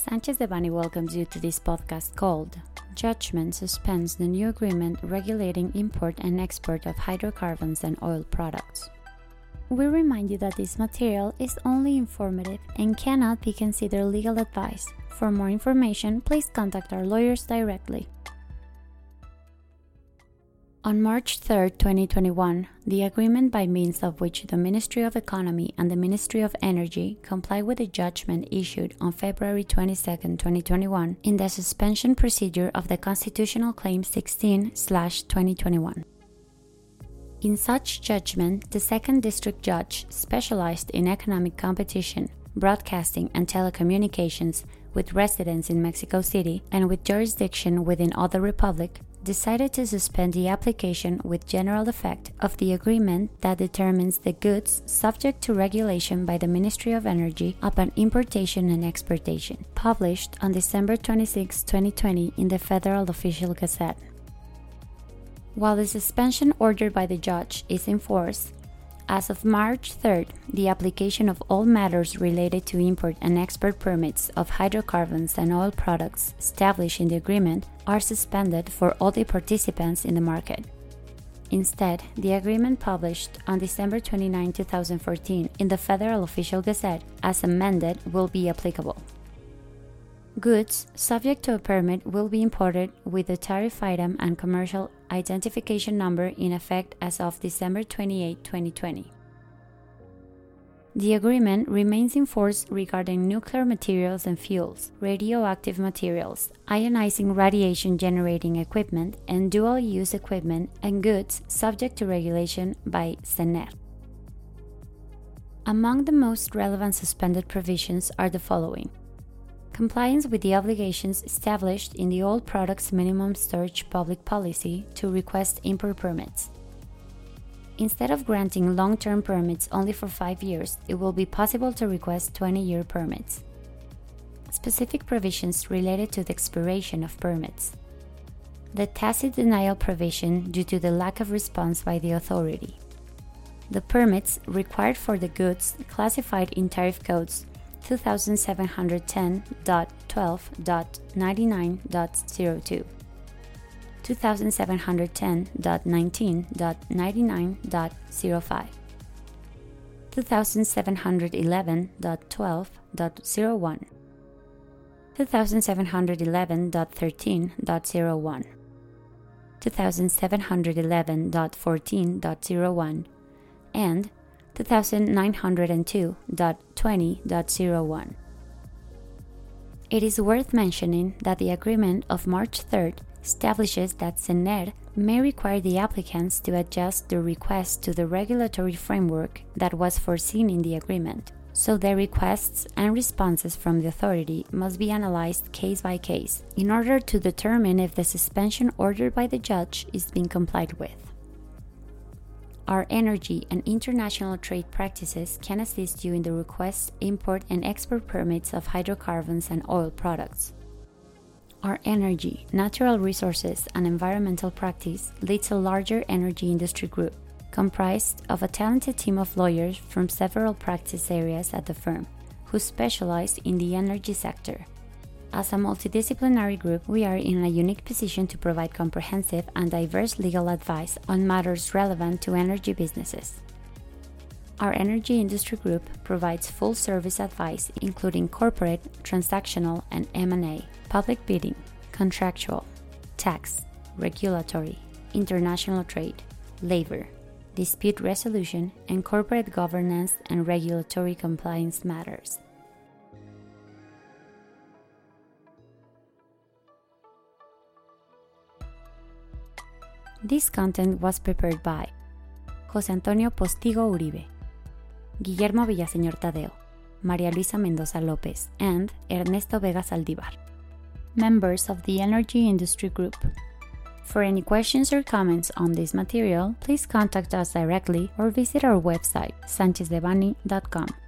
Sanchez Devanny welcomes you to this podcast called Judgment Suspends the New Agreement Regulating Import and Export of Hydrocarbons and Oil Products. We remind you that this material is only informative and cannot be considered legal advice. For more information, please contact our lawyers directly. On March 3, 2021, the agreement by means of which the Ministry of Economy and the Ministry of Energy comply with the judgment issued on February 22, 2021, in the suspension procedure of the Constitutional Claim 16/2021. In such judgment, the Second District Judge, specialized in economic competition, broadcasting and telecommunications, with residence in Mexico City and with jurisdiction within other republic, decided to suspend the application with general effect of the agreement that determines the goods subject to regulation by the Ministry of Energy upon importation and exportation, published on December 26, 2020 in the Federal Official Gazette. While the suspension ordered by the judge is in force, as of March 3rd, the application of all matters related to import and export permits of hydrocarbons and oil products established in the agreement are suspended for all the participants in the market. Instead, the agreement published on December 29, 2014 in the Federal Official Gazette, as amended, will be applicable. Goods subject to a permit will be imported with the tariff item and commercial identification number in effect as of December 28, 2020. The agreement remains in force regarding nuclear materials and fuels, radioactive materials, ionizing radiation generating equipment, and dual-use equipment and goods subject to regulation by CENER. Among the most relevant suspended provisions are the following: compliance with the obligations established in the Oil Products Minimum Storage Public Policy to request import permits. Instead of granting long-term permits only for 5 years, it will be possible to request 20-year permits. Specific provisions related to the expiration of permits. The tacit denial provision due to the lack of response by the authority. The permits required for the goods classified in tariff codes 2710.12.99.02, 2710.19.99.05, 2711.12.01, 2711.13.01, 2711.14.01, and 2902.20.01. It is worth mentioning that the agreement of March 3rd establishes that CENER may require the applicants to adjust their request to the regulatory framework that was foreseen in the agreement, so their requests and responses from the authority must be analyzed case by case in order to determine if the suspension ordered by the judge is being complied with. Our energy and international trade practices can assist you in the request, import, and export permits of hydrocarbons and oil products. Our energy, natural resources, and environmental practice leads a larger energy industry group, comprised of a talented team of lawyers from several practice areas at the firm, who specialize in the energy sector. As a multidisciplinary group, we are in a unique position to provide comprehensive and diverse legal advice on matters relevant to energy businesses. Our energy industry group provides full-service advice including corporate, transactional, and M&A, public bidding, contractual, tax, regulatory, international trade, labor, dispute resolution, and corporate governance and regulatory compliance matters. This content was prepared by José Antonio Postigo Uribe, Guillermo Villaseñor Tadeo, María Luisa Mendoza López, and Ernesto Vega Saldívar, members of the Energy Industry Group. For any questions or comments on this material, please contact us directly or visit our website, sanchezdevanny.com.